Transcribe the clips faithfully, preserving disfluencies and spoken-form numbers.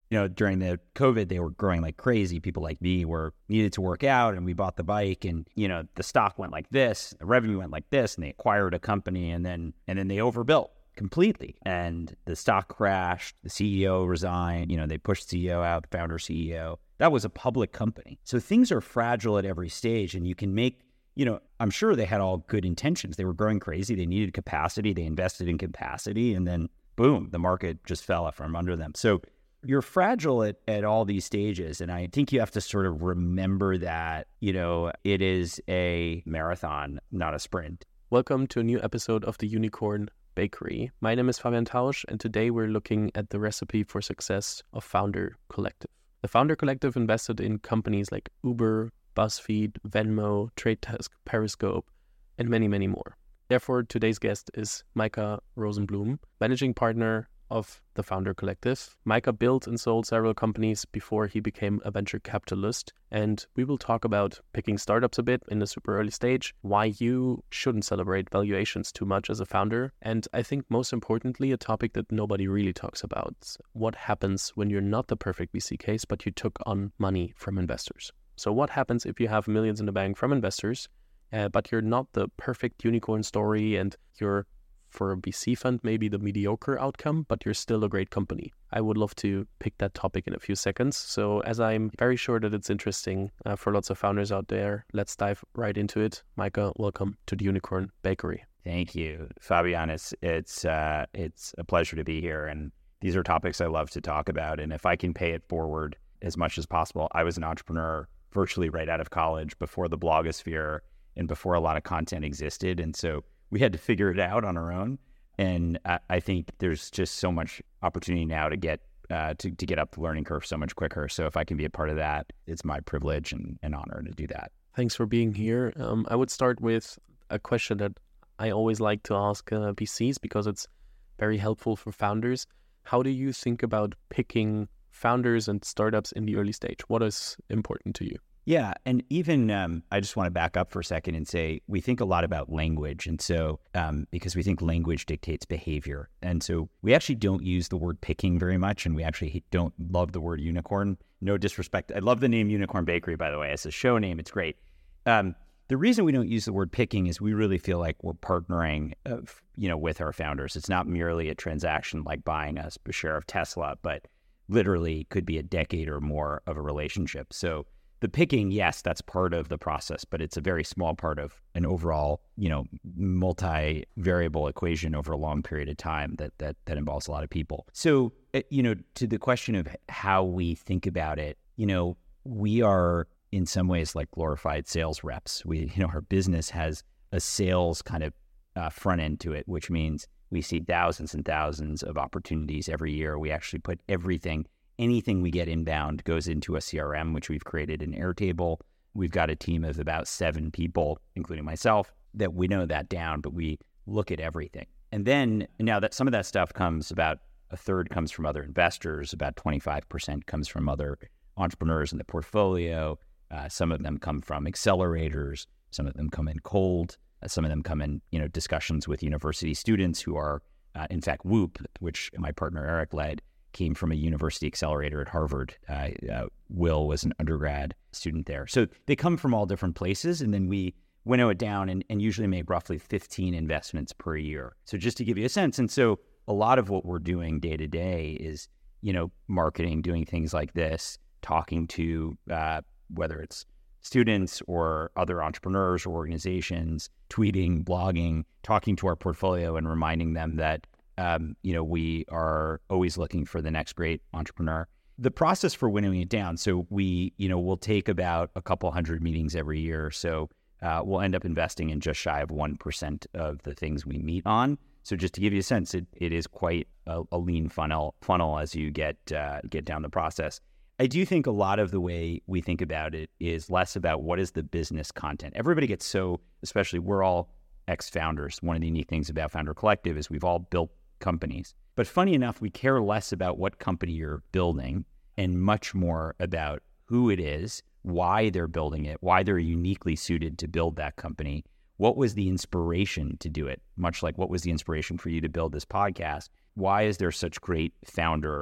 you know, during the COVID, they were growing like crazy. People like me were needed to work out, and we bought the bike, and, you know, the stock went like this, the revenue went like this, and they acquired a company, and then, and then they overbuilt completely. And the stock crashed, the C E O resigned, you know, they pushed C E O out, the founder C E O. That was a public company. So things are fragile at every stage, and you can make, you know, I'm sure they had all good intentions. They were growing crazy. They needed capacity. They invested in capacity, and then boom, the market just fell out from under them. So you're fragile at, at all these stages. And I think you have to sort of remember that, you know, it is a marathon, not a sprint. Welcome to a new episode of the Unicorn Bakery. My name is Fabian Tausch, and today we're looking at the recipe for success of Founder Collective. The Founder Collective invested in companies like Uber, BuzzFeed, Venmo, TradeTesk, Periscope, and many, many more. Therefore, today's guest is Micah Rosenblum, managing partner of the Founder Collective. Micah built and sold several companies before he became a venture capitalist, and we will talk about picking startups a bit in the super early stage, why you shouldn't celebrate valuations too much as a founder, and I think most importantly, a topic that nobody really talks about, what happens when you're not the perfect V C case, but you took on money from investors. So what happens if you have millions in the bank from investors, uh, but you're not the perfect unicorn story, and you're, for a V C fund, maybe the mediocre outcome, but you're still a great company? I would love to pick that topic in a few seconds. So as I'm very sure that it's interesting uh, for lots of founders out there, let's dive right into it. Micah, welcome to the Unicorn Bakery. Thank you, Fabian. It's, it's, uh, it's a pleasure to be here. And these are topics I love to talk about. And if I can pay it forward as much as possible, I was an entrepreneur virtually right out of college, before the blogosphere and before a lot of content existed. And so we had to figure it out on our own. And I, I think there's just so much opportunity now to get uh, to, to get up the learning curve so much quicker. So if I can be a part of that, it's my privilege and an honor to do that. Thanks for being here. Um, I would start with a question that I always like to ask uh, V Cs because it's very helpful for founders. How do you think about picking founders and startups in the early stage? What is important to you? Yeah. And even, um, I just want to back up for a second and say, we think a lot about language. And so, um, because we think language dictates behavior. And so we actually don't use the word picking very much. And we actually don't love the word unicorn. No disrespect. I love the name Unicorn Bakery, by the way. As a show name, it's great. Um, the reason we don't use the word picking is we really feel like we're partnering, uh, you know, with our founders. It's not merely a transaction like buying a share of Tesla, but literally could be a decade or more of a relationship. So the picking, yes, that's part of the process, but it's a very small part of an overall, you know, multi-variable equation over a long period of time that that that involves a lot of people. So, you know, to the question of how we think about it, you know, we are in some ways like glorified sales reps. We, you know, our business has a sales kind of uh, front end to it, which means we see thousands and thousands of opportunities every year. We actually put everything Anything we get inbound goes into a C R M, which we've created in Airtable. We've got a team of about seven people, including myself, that winnow that down, but we look at everything. And then now that some of that stuff comes, about a third comes from other investors, about twenty-five percent comes from other entrepreneurs in the portfolio. Uh, some of them come from accelerators. Some of them come in cold. Uh, some of them come in, you know, discussions with university students who are, uh, in fact, Whoop, which my partner Eric led, came from a university accelerator at Harvard. Uh, uh, Will was an undergrad student there. So they come from all different places, and then we winnow it down and, and usually make roughly fifteen investments per year. So just to give you a sense. And so a lot of what we're doing day to day is, you know, marketing, doing things like this, talking to uh, whether it's students or other entrepreneurs or organizations, tweeting, blogging, talking to our portfolio and reminding them that Um, you know, we are always looking for the next great entrepreneur. The process for winnowing it down, so we, you know, we'll take about a couple hundred meetings every year. So uh, we'll end up investing in just shy of one percent of the things we meet on. So just to give you a sense, it, it is quite a, a lean funnel funnel as you get uh, get down the process. I do think a lot of the way we think about it is less about what is the business content. Everybody gets so, especially we're all ex-founders. One of the unique things about Founder Collective is we've all built companies. But funny enough, we care less about what company you're building and much more about who it is, why they're building it, why they're uniquely suited to build that company. What was the inspiration to do it? Much like what was the inspiration for you to build this podcast? Why is there such great founder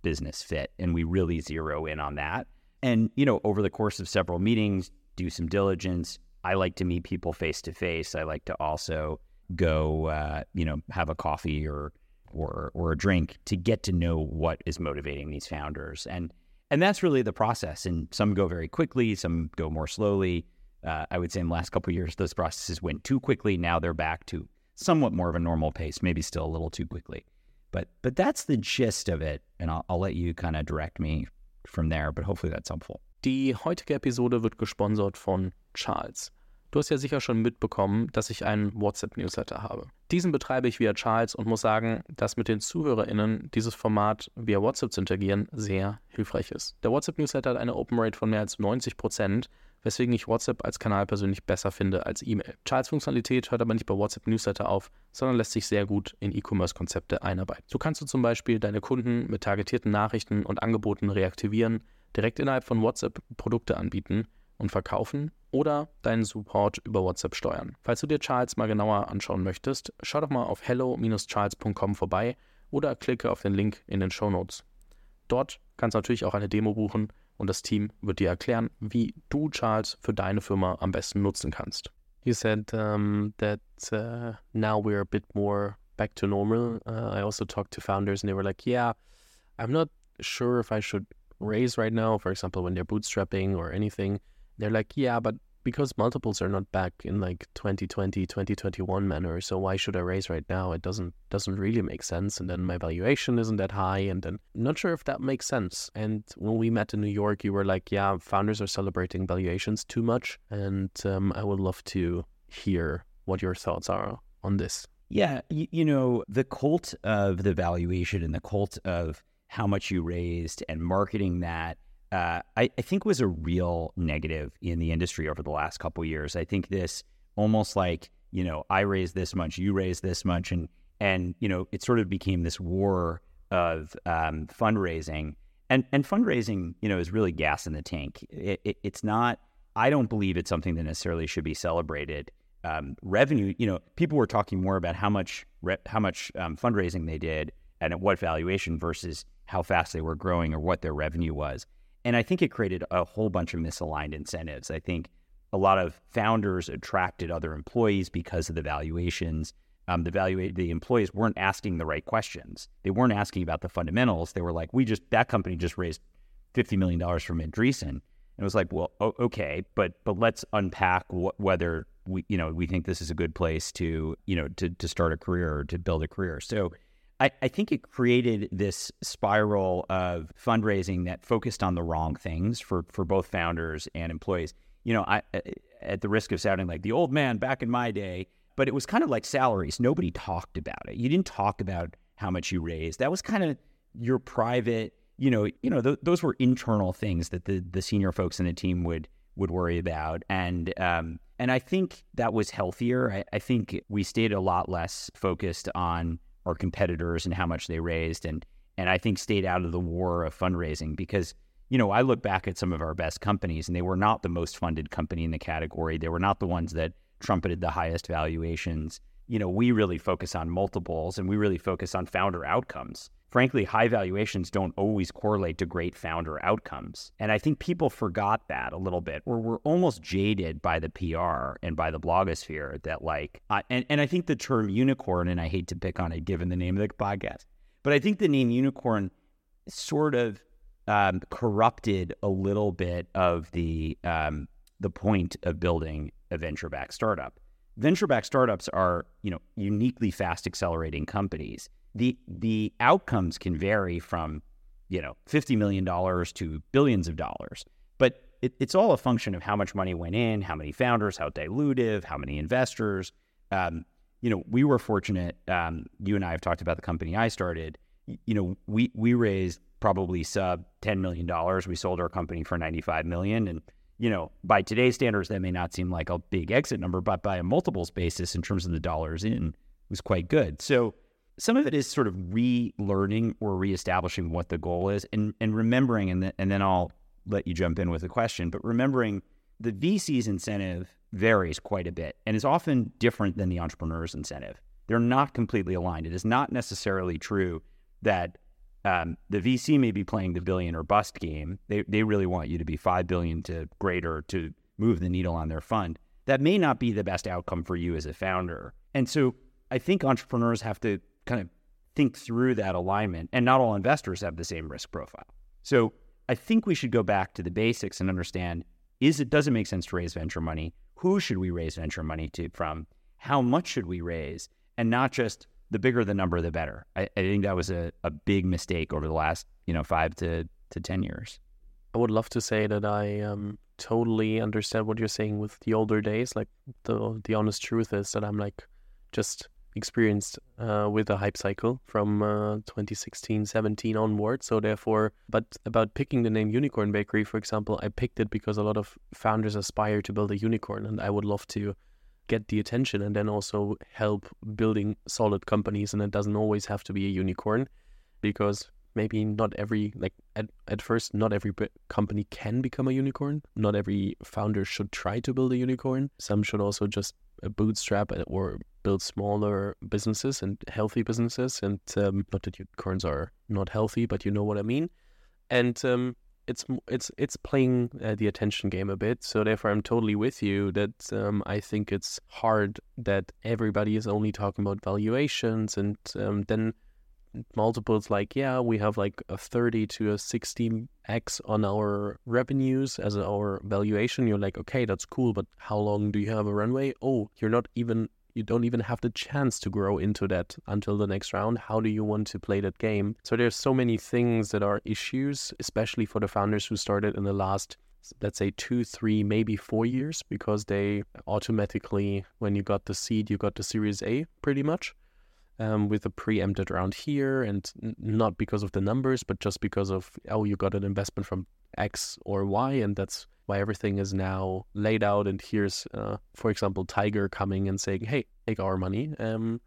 business fit, and we really zero in on that. And, you know, over the course of several meetings, do some diligence. I like to meet people face to face. I like to also go, uh, you know, have a coffee or or or a drink to get to know what is motivating these founders. And and that's really the process. And some go very quickly, some go more slowly. Uh, I would say in the last couple of years, those processes went too quickly. Now they're back to somewhat more of a normal pace, maybe still a little too quickly. But but that's the gist of it. And I'll, I'll let you kind of direct me from there, but hopefully that's helpful. Die heutige Episode wird gesponsert von Charles. Du hast ja sicher schon mitbekommen, dass ich einen WhatsApp-Newsletter habe. Diesen betreibe ich via Charles und muss sagen, dass mit den ZuhörerInnen dieses Format via WhatsApp zu interagieren sehr hilfreich ist. Der WhatsApp-Newsletter hat eine Open Rate von mehr als neunzig Prozent, weswegen ich WhatsApp als Kanal persönlich besser finde als E-Mail. Charles Funktionalität hört aber nicht bei WhatsApp-Newsletter auf, sondern lässt sich sehr gut in E-Commerce-Konzepte einarbeiten. So kannst du zum Beispiel deine Kunden mit targetierten Nachrichten und Angeboten reaktivieren, direkt innerhalb von WhatsApp Produkte anbieten und verkaufen oder deinen Support über WhatsApp steuern. Falls du dir Charles mal genauer anschauen möchtest, schau doch mal auf hello dash charles dot com vorbei oder klicke auf den Link in den Shownotes. Dort kannst du natürlich auch eine Demo buchen und das Team wird dir erklären, wie du Charles für deine Firma am besten nutzen kannst. You said um, that uh, now we're a bit more back to normal. Uh, I also talked to founders and they were like, yeah, I'm not sure if I should raise right now, for example, when they're bootstrapping or anything. They're like, yeah, but because multiples are not back in like twenty twenty, twenty twenty-one manner, so why should I raise right now? It doesn't doesn't really make sense. And then my valuation isn't that high. And then I'm not sure if that makes sense. And when we met in New York, you were like, yeah, founders are celebrating valuations too much. And um, I would love to hear what your thoughts are on this. Yeah, you, you know, the cult of the valuation and the cult of how much you raised and marketing that, Uh, I, I think was a real negative in the industry over the last couple of years. I think this almost like, you know, I raised this much, you raised this much, and, and you know, it sort of became this war of um, fundraising. And and fundraising, you know, is really gas in the tank. It, it, it's not, I don't believe it's something that necessarily should be celebrated. Um, revenue, you know, people were talking more about how much, re- how much um, fundraising they did and at what valuation versus how fast they were growing or what their revenue was. And I think it created a whole bunch of misaligned incentives. I think a lot of founders attracted other employees because of the valuations. Um, the value, the employees weren't asking the right questions. They weren't asking about the fundamentals. They were like, "We just that company just raised fifty million dollars from Andreessen." And it was like, "Well, okay, but but let's unpack wh- whether we, you know, we think this is a good place to, you know, to to start a career or to build a career." So. I, I think it created this spiral of fundraising that focused on the wrong things for, for both founders and employees. You know, I, at the risk of sounding like the old man back in my day, but it was kind of like salaries. Nobody talked about it. You didn't talk about how much you raised. That was kind of your private, you know, you know, th- those were internal things that the, the senior folks in the team would would worry about. And um, and I think that was healthier. I, I think we stayed a lot less focused on our competitors and how much they raised, and and I think stayed out of the war of fundraising because, you know, I look back at some of our best companies and they were not the most funded company in the category. They were not the ones that trumpeted the highest valuations. You know, we really focus on multiples and we really focus on founder outcomes. Frankly, high valuations don't always correlate to great founder outcomes. And I think people forgot that a little bit, or we're almost jaded by the P R and by the blogosphere that like, uh, and, and I think the term unicorn, and I hate to pick on it given the name of the podcast, but I think the name unicorn sort of um, corrupted a little bit of the um, the point of building a venture-backed startup. Venture-backed startups are, you know, uniquely fast accelerating companies. The the outcomes can vary from, you know, fifty million dollars to billions of dollars. But it, it's all a function of how much money went in, how many founders, how dilutive, how many investors. Um, you know, we were fortunate. Um, you and I have talked about the company I started. You know, we we raised probably sub ten million dollars. We sold our company for ninety-five million dollars. And, you know, by today's standards, that may not seem like a big exit number, but by a multiples basis in terms of the dollars in, it was quite good. So some of it is sort of relearning or reestablishing what the goal is and, and remembering, and, th- and then I'll let you jump in with a question, but remembering the V C's incentive varies quite a bit and is often different than the entrepreneur's incentive. They're not completely aligned. It is not necessarily true that um, the V C may be playing the billion or bust game. They they really want you to be five billion to greater to move the needle on their fund. That may not be the best outcome for you as a founder. And so I think entrepreneurs have to kind of think through that alignment, and not all investors have the same risk profile. So I think we should go back to the basics and understand, is it, does it make sense to raise venture money? Who should we raise venture money to from? How much should we raise? And not just the bigger the number, the better. I, I think that was a, a big mistake over the last, you know, five to, to ten years. I would love to say that I um, totally understand what you're saying with the older days. Like the the honest truth is that I'm like just experienced uh, with a hype cycle from uh, twenty sixteen, seventeen onward. So therefore, but about picking the name Unicorn Bakery, for example, I picked it because a lot of founders aspire to build a unicorn, and I would love to get the attention and then also help building solid companies. And it doesn't always have to be a unicorn, because maybe not every, like at, at first, not every company can become a unicorn. Not every founder should try to build a unicorn. Some should also just bootstrap or build smaller businesses and healthy businesses. And um, not that unicorns are not healthy, but you know what I mean. And um, it's it's it's playing uh, the attention game a bit. So therefore, I'm totally with you that um, I think it's hard that everybody is only talking about valuations, and um, then multiples like, yeah, we have like a thirty to a sixty x on our revenues as our valuation. You're like, okay, that's cool, but how long do you have a runway? Oh, you're not even, you don't even have the chance to grow into that until the next round. How do you want to play that game? So there's so many things that are issues, especially for the founders who started in the last, let's say two, three, maybe four years, because they automatically, when you got the seed, you got the Series A pretty much. Um, with a preempted round here, and n- not because of the numbers, but just because of, oh, you got an investment from X or Y, and that's why everything is now laid out. And here's, uh, for example, Tiger coming and saying, hey, take our money. Um,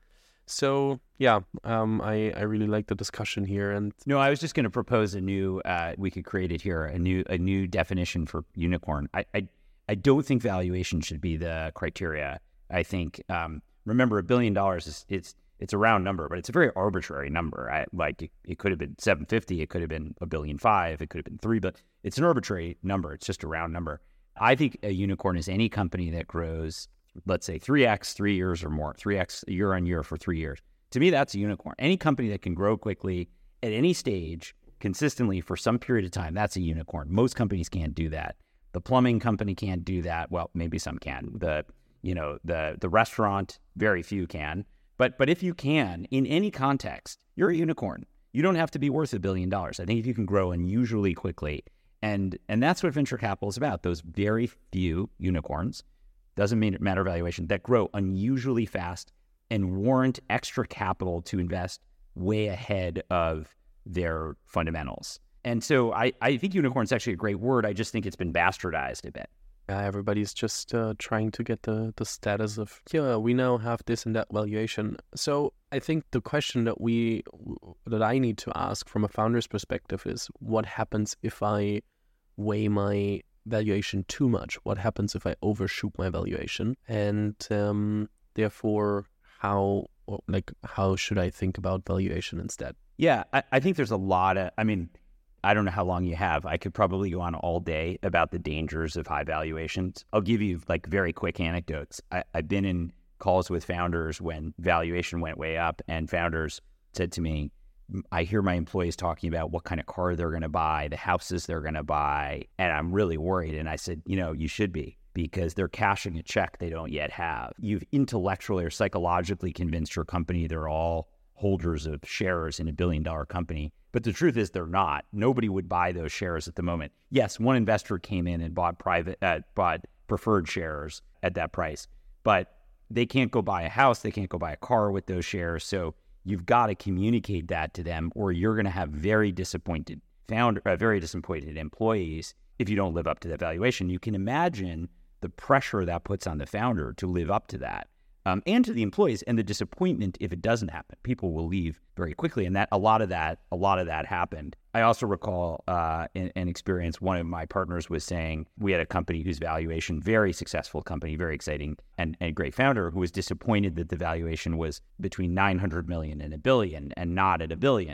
so, yeah, um, I, I really like the discussion here. And no, I was just going to propose a new, uh, we could create it here, a new a new definition for unicorn. I, I, I don't think valuation should be the criteria. I think, um, remember, a billion dollars is, it's, It's a round number, but it's a very arbitrary number. I, like it, it could have been seven fifty, it could have been a billion five, it could have been three, but it's an arbitrary number. It's just a round number. I think a unicorn is any company that grows, let's say three x three years or more, three x year on year for three years. To me, that's a unicorn. Any company that can grow quickly at any stage consistently for some period of time, that's a unicorn. Most companies can't do that. The plumbing company can't do that. Well, maybe some can. The, you know, the the restaurant, very few can. But but if you can, in any context, you're a unicorn. You don't have to be worth a billion dollars. I think if you can grow unusually quickly, and and that's what venture capital is about, those very few unicorns, doesn't mean matter valuation, that grow unusually fast and warrant extra capital to invest way ahead of their fundamentals. And so I, I think unicorn is actually a great word. I just think it's been bastardized a bit. Yeah, everybody's just uh, trying to get the, the status of, yeah, we now have this and that valuation. So I think the question that we that I need to ask from a founder's perspective is, what happens if I weigh my valuation too much? What happens if I overshoot my valuation? And um, therefore, how like how should I think about valuation instead? Yeah, I, I think there's a lot of, I mean, I don't know how long you have. I could probably go on all day about the dangers of high valuations. I'll give you like very quick anecdotes. I, I've been in calls with founders when valuation went way up, and founders said to me, I hear my employees talking about what kind of car they're going to buy, the houses they're going to buy, and I'm really worried. And I said, you know, you should be, because they're cashing a check they don't yet have. You've intellectually or psychologically convinced your company they're all holders of shares in a billion dollar company. But the truth is they're not. Nobody would buy those shares at the moment. Yes, one investor came in and bought private, uh, bought preferred shares at that price, but they can't go buy a house. They can't go buy a car with those shares. So you've got to communicate that to them, or you're going to have very disappointed founder, uh, very disappointed employees if you don't live up to that valuation. You can imagine the pressure that puts on the founder to live up to that. Um, and to the employees, and the disappointment if it doesn't happen. People will leave very quickly, and that a lot of that, a lot of that happened. I also recall uh, an, an experience. One of my partners was saying we had a company whose valuation, very successful company, very exciting, and, and great founder, who was disappointed that the valuation was between nine hundred million and a billion, and not at a billion.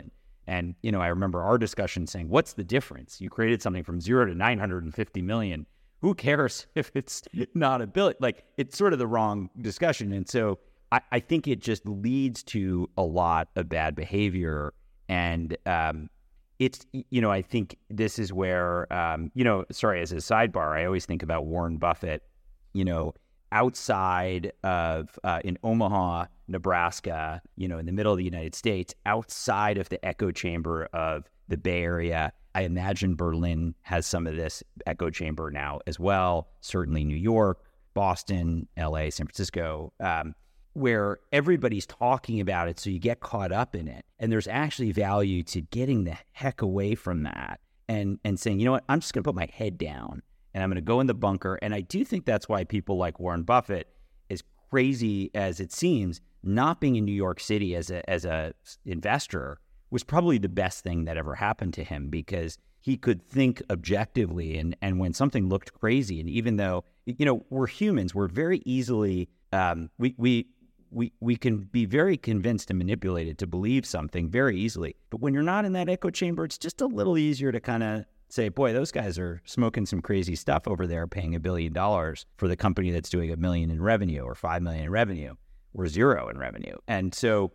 And, you know, I remember our discussion saying, what's the difference? You created something from zero to nine hundred fifty million. Who cares if it's not a billion? Like, it's sort of the wrong discussion. And so I, I think it just leads to a lot of bad behavior. And um, it's, you know, I think this is where, um, you know, sorry, as a sidebar, I always think about Warren Buffett, you know, outside of, uh, in Omaha, Nebraska, you know, in the middle of the United States, outside of the echo chamber of the Bay Area. I imagine Berlin has some of this echo chamber now as well, certainly New York, Boston, L A, San Francisco, um, where everybody's talking about it, so you get caught up in it. And there's actually value to getting the heck away from that and, and saying, you know what, I'm just going to put my head down and I'm going to go in the bunker. And I do think that's why people like Warren Buffett, as crazy as it seems, not being in New York City as a as a investor was probably the best thing that ever happened to him, because he could think objectively. And, and when something looked crazy, and even though, you know, we're humans, we're very easily, um, we, we, we, we can be very convinced and manipulated to believe something very easily. But when you're not in that echo chamber, it's just a little easier to kind of say, boy, those guys are smoking some crazy stuff over there, paying a billion dollars for the company that's doing a million in revenue or five million in revenue or zero in revenue. And so,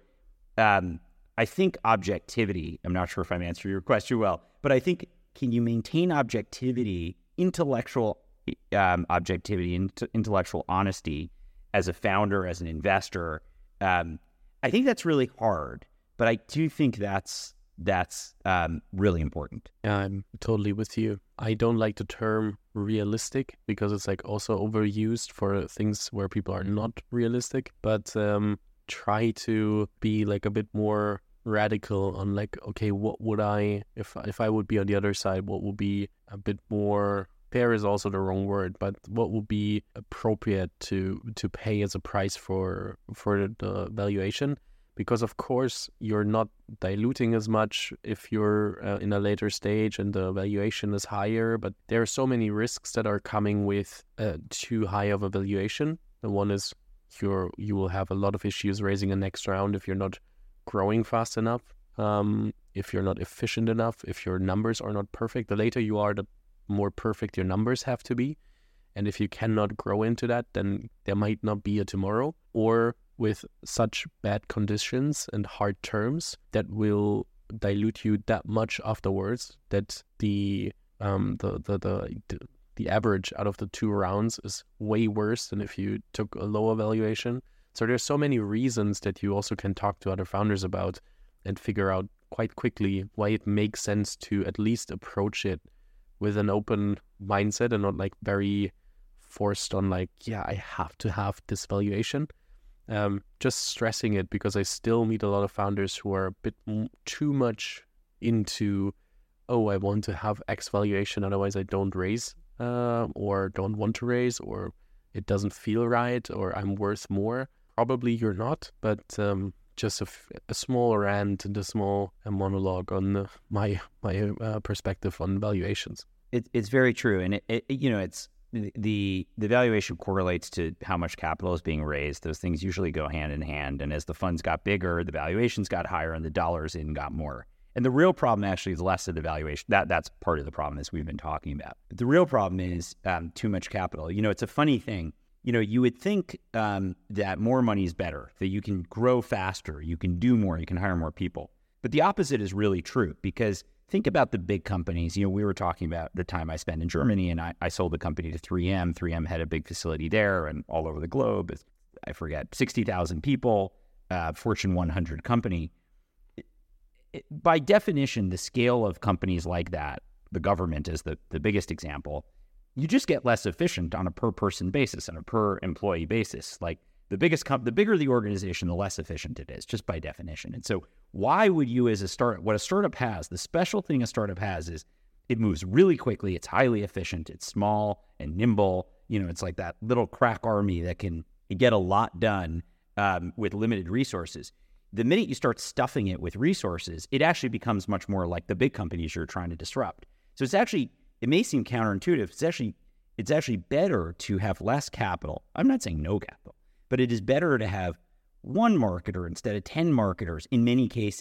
um, I think objectivity, I'm not sure if I'm answering your question well, but I think, can you maintain objectivity, intellectual um, objectivity, int- intellectual honesty as a founder, as an investor? Um, I think that's really hard, but I do think that's that's um, really important. Yeah, I'm totally with you. I don't like the term realistic because it's like also overused for things where people are not realistic, but um, try to be like a bit more radical on like, okay, what would I, if if I would be on the other side, what would be a bit more, fair is also the wrong word, but what would be appropriate to to pay as a price for for the valuation? Because of course you're not diluting as much if you're uh, in a later stage and the valuation is higher, but there are so many risks that are coming with uh, too high of a valuation. The one is you're you will have a lot of issues raising a next round if you're not growing fast enough, um, if you're not efficient enough, if your numbers are not perfect. The later you are, the more perfect your numbers have to be. And if you cannot grow into that, then there might not be a tomorrow, or with such bad conditions and hard terms that will dilute you that much afterwards that the um the the the, the average out of the two rounds is way worse than if you took a lower valuation. So there's so many reasons that you also can talk to other founders about and figure out quite quickly why it makes sense to at least approach it with an open mindset and not like very forced on like, yeah, I have to have this valuation. Um, just stressing it because I still meet a lot of founders who are a bit m- too much into, oh, I want to have X valuation, otherwise I don't raise uh, or don't want to raise, or it doesn't feel right, or I'm worth more. Probably you're not, but um, just a, f- a small rant and a small a monologue on uh, my my uh, perspective on valuations. It, it's very true, and it, it you know it's the the valuation correlates to how much capital is being raised. Those things usually go hand in hand, and as the funds got bigger, the valuations got higher, and the dollars in got more. And the real problem actually is less of the valuation. That that's part of the problem, as we've been talking about. But the real problem is um, too much capital. You know, it's a funny thing. You know, you would think um, that more money is better, that you can grow faster, you can do more, you can hire more people. But the opposite is really true, because think about the big companies. You know, we were talking about the time I spent in Germany, and I, I sold the company to three M. three M had a big facility there and all over the globe. I forget, sixty thousand people, uh, Fortune one hundred company. It, it, by definition, the scale of companies like that, the government is the, the biggest example, you just get less efficient on a per person basis and a per employee basis. Like the biggest, com- the bigger the organization, the less efficient it is, just by definition. And so why would you as a startup, what a startup has, the special thing a startup has is it moves really quickly. It's highly efficient. It's small and nimble. You know, it's like that little crack army that can get a lot done um, with limited resources. The minute you start stuffing it with resources, it actually becomes much more like the big companies you're trying to disrupt. So it's actually, it may seem counterintuitive. It's actually, it's actually better to have less capital. I'm not saying no capital, but it is better to have one marketer instead of ten marketers in many cases,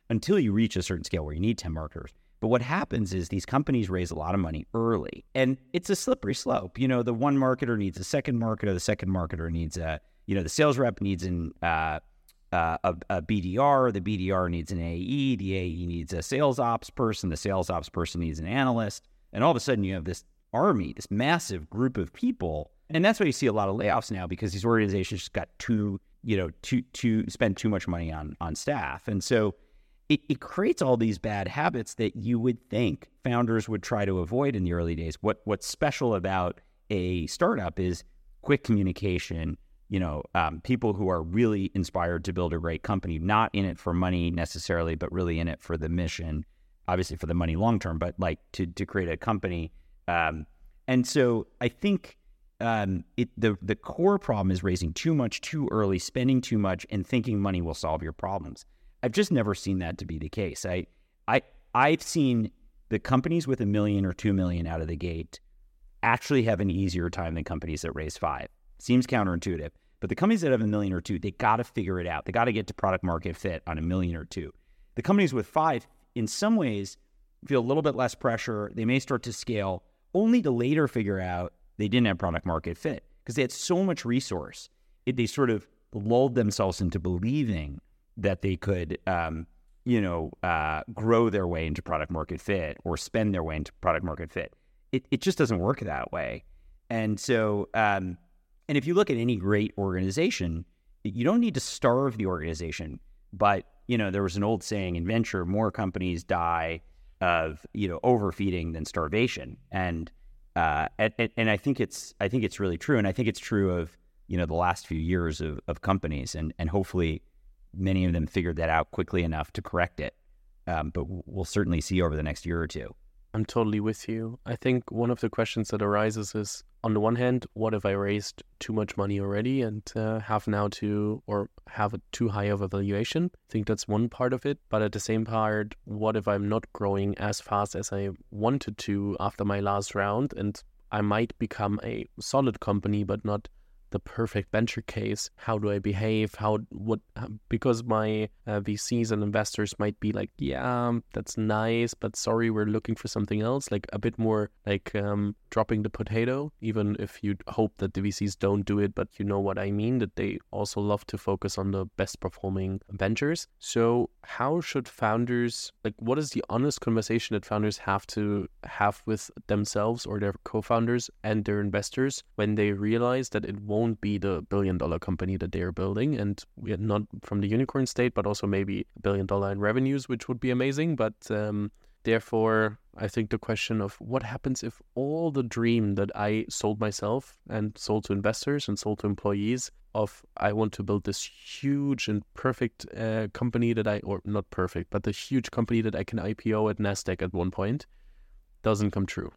until you reach a certain scale where you need ten marketers. But what happens is these companies raise a lot of money early, and it's a slippery slope. You know, the one marketer needs a second marketer, the second marketer needs a, you know, the sales rep needs an, uh, uh, a, a B D R, the B D R needs an A E, the A E needs a sales ops person, the sales ops person needs an analyst, and all of a sudden you have this army, this massive group of people. And that's why you see a lot of layoffs now, because these organizations just got too, you know, too, too, spend too much money on, on staff. And so It, it creates all these bad habits that you would think founders would try to avoid in the early days. What What's special about a startup is quick communication, you know, um, people who are really inspired to build a great company, not in it for money necessarily, but really in it for the mission, obviously for the money long term, but like to, to create a company. Um, and so I think um, it, the, the core problem is raising too much too early, spending too much, and thinking money will solve your problems. I've just never seen that to be the case. I, I, I've seen the companies with a million or two million out of the gate actually have an easier time than companies that raise five. Seems counterintuitive, but the companies that have a million or two, they got to figure it out. They got to get to product market fit on a million or two. The companies with five, in some ways, feel a little bit less pressure. They may start to scale, only to later figure out they didn't have product market fit because they had so much resource. It, they sort of lulled themselves into believing that they could, um, you know, uh, grow their way into product market fit or spend their way into product market fit. It it just doesn't work that way. And so, um, and if you look at any great organization, you don't need to starve the organization. But, you know, there was an old saying in venture, more companies die of, you know, overfeeding than starvation. And, uh, and, and I think it's, I think it's really true. And I think it's true of, you know, the last few years of, of companies, and, and hopefully many of them figured that out quickly enough to correct it. Um, but we'll certainly see over the next year or two. I'm totally with you. I think one of the questions that arises is, on the one hand, what if I raised too much money already and uh, have now to, or have a too high of a valuation? I think that's one part of it. But at the same part, what if I'm not growing as fast as I wanted to after my last round, and I might become a solid company, but not the perfect venture case? How do I behave? How, what, because my uh, V Cs and investors might be like, yeah, that's nice, but sorry, we're looking for something else, like a bit more like um, dropping the potato, even if you hope that the V Cs don't do it, but you know what I mean, that they also love to focus on the best performing ventures. So how should founders, like what is the honest conversation that founders have to have with themselves or their co-founders and their investors when they realize that it won't won't be the billion dollar company that they're building, and we're not from the unicorn state, but also maybe a billion dollar in revenues, which would be amazing. But um, therefore, I think the question of what happens if all the dream that I sold myself and sold to investors and sold to employees of I want to build this huge and perfect uh, company that I, or not perfect, but the huge company that I can I P O at NASDAQ at one point doesn't come true.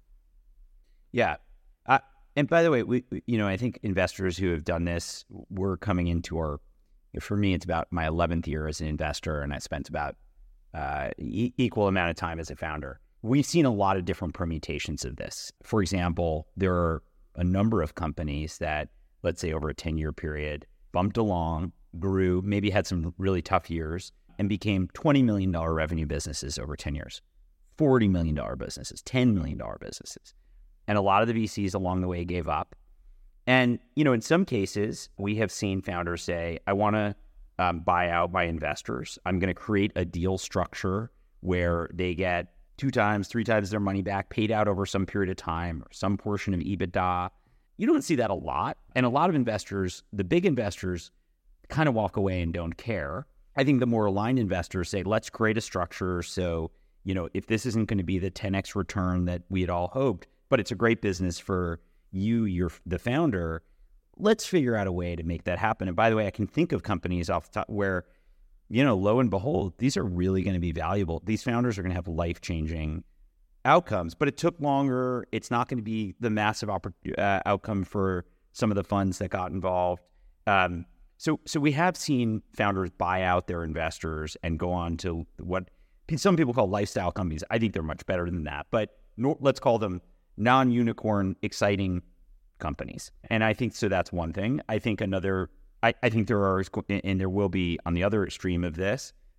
Yeah. I- And by the way, we, you know, I think investors who have done this, we're coming into our, for me, it's about my eleventh year as an investor, and I spent about uh, e- equal amount of time as a founder. We've seen a lot of different permutations of this. For example, there are a number of companies that, let's say over a ten-year period, bumped along, grew, maybe had some really tough years, and became twenty million dollars revenue businesses over ten years, forty million dollars businesses, ten million dollars businesses. And a lot of the V Cs along the way gave up. And, you know, in some cases, we have seen founders say, I want to um, buy out my investors. I'm going to create a deal structure where they get two times, three times their money back, paid out over some period of time, or some portion of EBITDA. You don't see that a lot. And a lot of investors, the big investors, kind of walk away and don't care. I think the more aligned investors say, let's create a structure so, you know, if this isn't going to be the ten x return that we had all hoped, but it's a great business for you, you're the founder, let's figure out a way to make that happen. And by the way, I can think of companies off the top where, you know, lo and behold, these are really going to be valuable. These founders are going to have life-changing outcomes, but it took longer. It's not going to be the massive oppor- uh, outcome for some of the funds that got involved. Um, so, so we have seen founders buy out their investors and go on to what some people call lifestyle companies. I think they're much better than that, but no, let's call them non-unicorn, exciting companies. And I think, so that's one thing. I think another, I, I think there are, and there will be on the other extreme of this,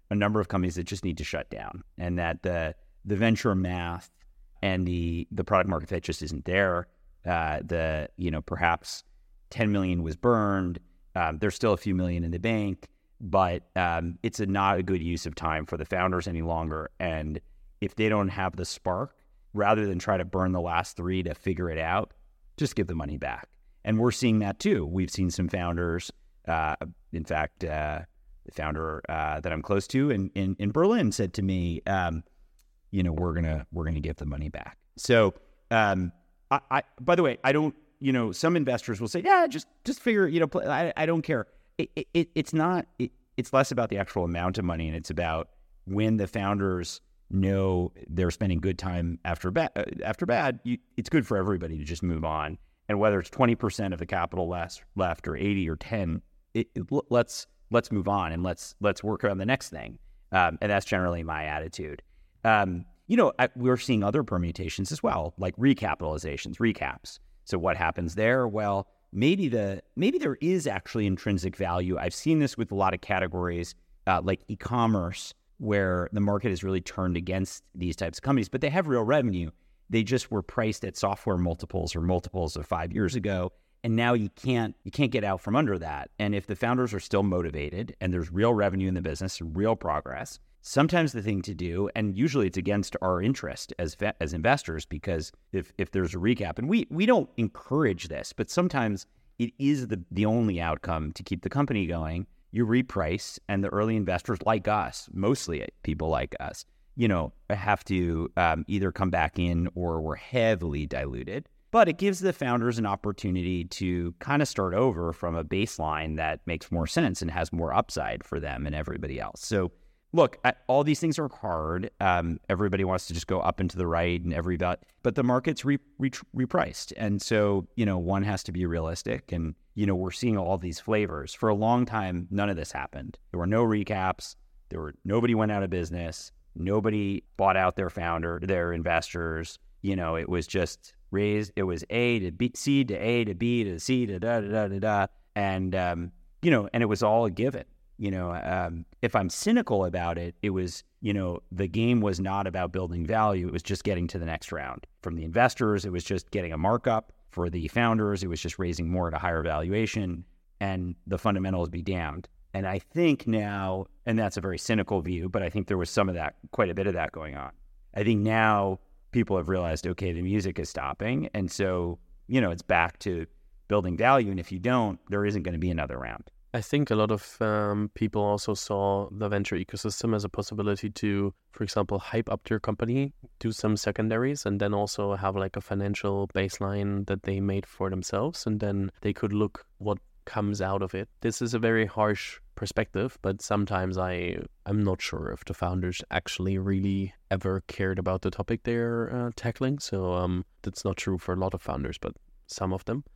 a number of companies that just need to shut down, and that the the venture math and the the product market fit just isn't there. Uh, the you know perhaps ten million was burned. Um, there's still a few million in the bank, but um, it's a, not a good use of time for the founders any longer. And if they don't have the spark, rather than try to burn the last three to figure it out, just give the money back. And we're seeing that too. We've seen some founders. Uh, in fact, uh, the founder uh, that I'm close to in, in, in Berlin said to me, um, you know, we're gonna we're gonna give the money back. So, um, I, I by the way, I don't. You know, some investors will say, yeah, just just figure. You know, play, I I don't care. It, it it's not. It, it's less about the actual amount of money, and it's about when the founders know they're spending good time after bad. Uh, after bad, you, it's good for everybody to just move on. And whether it's twenty percent of the capital left, left or eighty or ten, it, it, let's let's move on and let's let's work on the next thing. Um, and that's generally my attitude. Um, you know, I, we're seeing other permutations as well, like recapitalizations, recaps. So what happens there? Well, maybe the maybe there is actually intrinsic value. I've seen this with a lot of categories uh, like e-commerce, where the market has really turned against these types of companies, but they have real revenue. They just were priced at software multiples or multiples of five years ago, and now you can't you can't get out from under that. And if the founders are still motivated and there's real revenue in the business, real progress, sometimes the thing to do, and usually it's against our interest as as investors, because if if there's a recap, and we we don't encourage this, but sometimes it is the the only outcome to keep the company going. You reprice, and the early investors like us, mostly people like us, you know, have to um, either come back in or we're heavily diluted. But it gives the founders an opportunity to kind of start over from a baseline that makes more sense and has more upside for them and everybody else. So look, I, all these things are hard. Um, everybody wants to just go up and to the right and every but but the market's re, re, repriced. And so, you know, one has to be realistic. And, you know, we're seeing all these flavors. For a long time, none of this happened. There were no recaps. There were nobody went out of business. Nobody bought out their founder, their investors. You know, it was just raised. It was A to B, C to A to B to C to da da da da da. And, um, you know, and it was all a given. You know, um, if I'm cynical about it, it was, you know, the game was not about building value. It was just getting to the next round. From the investors, it was just getting a markup. For the founders, it was just raising more at a higher valuation, and the fundamentals be damned. And I think now, and that's a very cynical view, but I think there was some of that, quite a bit of that going on. I think now people have realized, okay, the music is stopping. And so, you know, it's back to building value. And if you don't, there isn't going to be another round. I think a lot of um, people also saw the venture ecosystem as a possibility to, for example, hype up their company, do some secondaries, and then also have like a financial baseline that they made for themselves. And then they could look what comes out of it. This is a very harsh perspective, but sometimes I, I'm not sure if the founders actually really ever cared about the topic they're uh, tackling. So um, that's not true for a lot of founders, but some of them.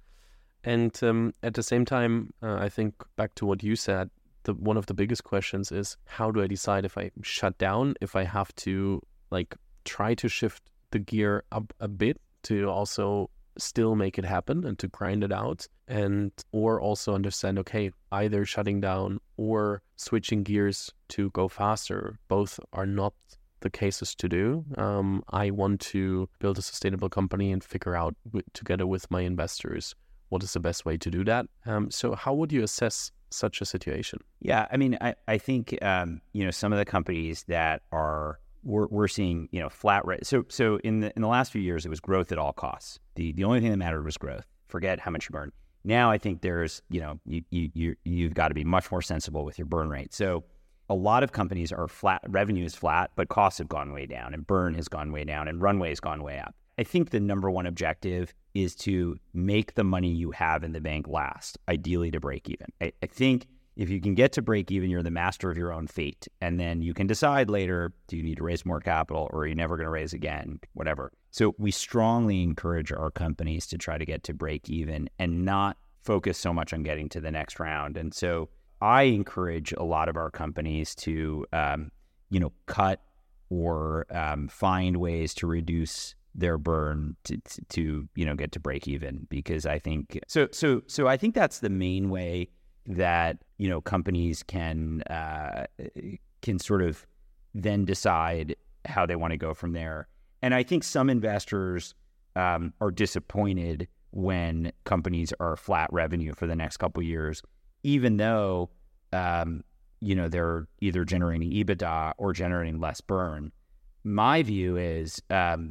And um, at the same time, uh, I think back to what you said, the, one of the biggest questions is, how do I decide if I shut down, if I have to like try to shift the gear up a bit to also still make it happen and to grind it out, and or also understand, okay, either shutting down or switching gears to go faster, both are not the cases to do. Um, I want to build a sustainable company and figure out w- together with my investors what is the best way to do that? Um, so how would you assess such a situation? Yeah, I mean, I, I think, um, you know, some of the companies that are, we're, we're seeing, you know, flat rate. So so in the in the last few years, it was growth at all costs. The the only thing that mattered was growth. Forget how much you burn. Now I think there's, you know, you, you, you, you've got to be much more sensible with your burn rate. So a lot of companies are flat, revenue is flat, but costs have gone way down and burn has gone way down and runway has gone way up. I think the number one objective is to make the money you have in the bank last, ideally to break even. I, I think if you can get to break even, you're the master of your own fate. And then you can decide later, do you need to raise more capital or are you never going to raise again, whatever. So we strongly encourage our companies to try to get to break even and not focus so much on getting to the next round. And so I encourage a lot of our companies to, um, you know, cut or um, find ways to reduce their burn to, to, to, you know, get to break even, because I think, so, so, so I think that's the main way that, you know, companies can, uh, can sort of then decide how they want to go from there. And I think some investors um, are disappointed when companies are flat revenue for the next couple of years, even though, um, you know, they're either generating EBITDA or generating less burn. My view is, um,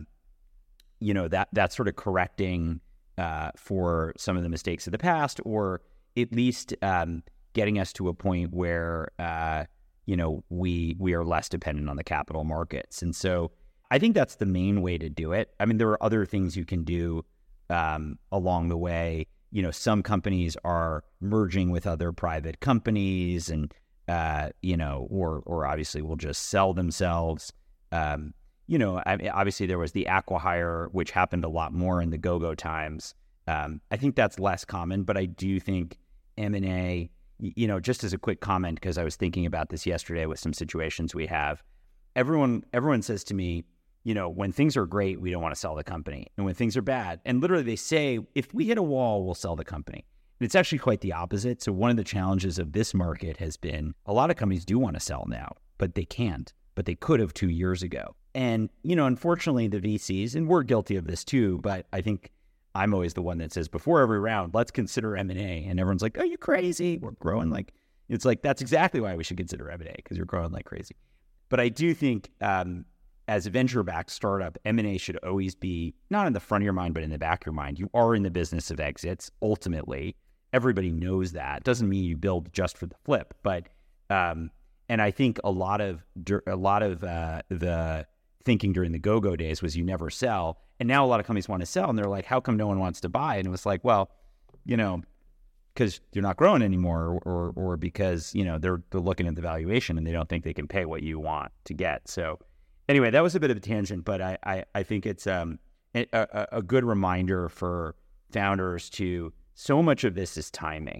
you know, that that's sort of correcting uh, for some of the mistakes of the past, or at least um, getting us to a point where, uh, you know, we we are less dependent on the capital markets. And so I think that's the main way to do it. I mean, there are other things you can do um, along the way. You know, some companies are merging with other private companies, and uh, you know, or or obviously will just sell themselves. Um, you know, I mean, obviously there was the acqui-hire, which happened a lot more in the go-go times. Um, I think that's less common, but I do think M and A, you know, just as a quick comment, because I was thinking about this yesterday with some situations we have. Everyone, everyone says to me, you know, when things are great, we don't want to sell the company. And when things are bad, and literally they say, if we hit a wall, we'll sell the company. And it's actually quite the opposite. So one of the challenges of this market has been a lot of companies do want to sell now, but they can't, but they could have two years ago. And, you know, unfortunately, the V Cs, and we're guilty of this too, but I think I'm always the one that says before every round, let's consider M and A. And everyone's like, are you crazy? We're growing like, it's like, that's exactly why we should consider M and A, because you're growing like crazy. But I do think, um, as a venture-backed startup, M and A should always be not in the front of your mind, but in the back of your mind. You are in the business of exits. Ultimately, everybody knows that. Doesn't mean you build just for the flip, but um, and I think a lot of a lot of uh, the thinking during the go-go days was you never sell, and now a lot of companies want to sell, and they're like, how come no one wants to buy? And it was like, well, you know, because you're not growing anymore, or, or or because you know they're they're looking at the valuation and they don't think they can pay what you want to get. So. Anyway, that was a bit of a tangent, but I, I, I think it's um, a, a, a good reminder for founders to, so much of this is timing.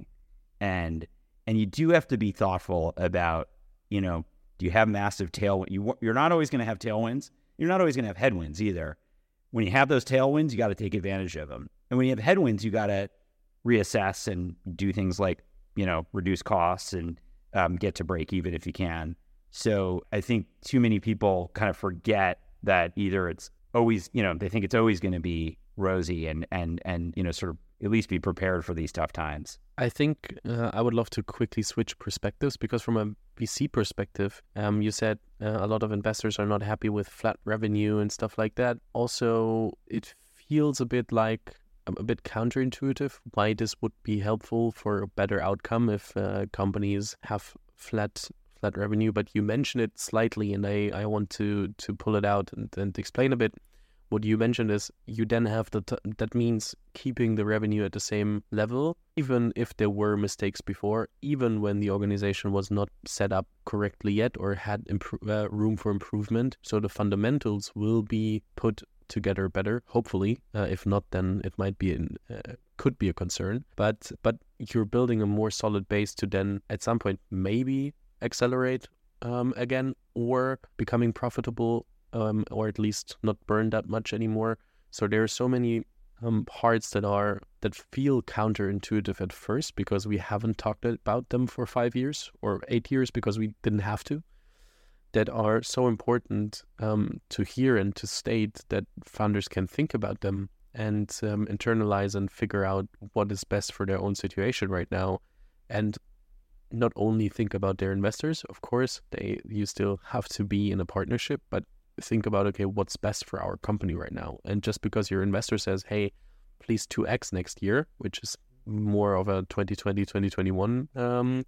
And and you do have to be thoughtful about, you know, do you have massive tailwinds? You, you're not always going to have tailwinds. You're not always going to have headwinds either. When you have those tailwinds, you got to take advantage of them. And when you have headwinds, you got to reassess and do things like, you know, reduce costs and um, get to break even if you can. So I think too many people kind of forget that either it's always, you know, they think it's always going to be rosy and, and, and, you know, sort of at least be prepared for these tough times. I think uh, I would love to quickly switch perspectives, because from a V C perspective, um, you said uh, a lot of investors are not happy with flat revenue and stuff like that. Also, it feels a bit like a bit counterintuitive why this would be helpful for a better outcome if uh, companies have flat flat revenue, but you mentioned it slightly, and I, I want to to pull it out and, and explain a bit. What you mentioned is you then have the t- that means keeping the revenue at the same level, even if there were mistakes before, even when the organization was not set up correctly yet or had impro- uh, room for improvement. So the fundamentals will be put together better, hopefully. Uh, if not, then it might be an, uh, could be a concern. But but you're building a more solid base to then at some point maybe accelerate um, again, or becoming profitable, um, or at least not burn that much anymore. So there are so many um, parts that are that feel counterintuitive at first, because we haven't talked about them for five years or eight years because we didn't have to, that are so important um, to hear and to state that founders can think about them and um, internalize and figure out what is best for their own situation right now. And not only think about their investors, of course, they you still have to be in a partnership, but think about, okay, what's best for our company right now? And just because your investor says, hey, please two X next year, which is more of a twenty twenty, twenty twenty-one um,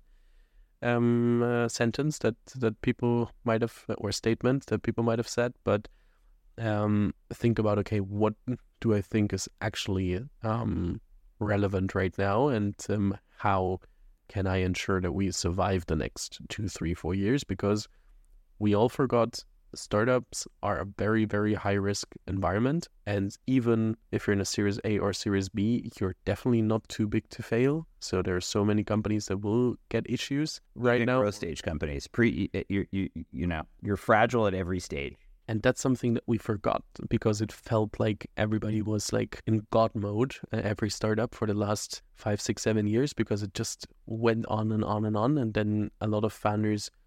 um, uh, sentence that, that people might have, or statement that people might have said, but um, think about, okay, what do I think is actually um, relevant right now, and um, how can I ensure that we survive the next two, three, four years? Because we all forgot startups are a very, very high risk environment. And even if you're in a Series A or Series B, you're definitely not too big to fail. So there are so many companies that will get issues right now. Growth stage companies, pre, you, you, you know, you're fragile at every stage. And that's something that we forgot, because it felt like everybody was like in God mode, uh, every startup for the last five, six, seven years, because it just went on and on and on. And then a lot of founders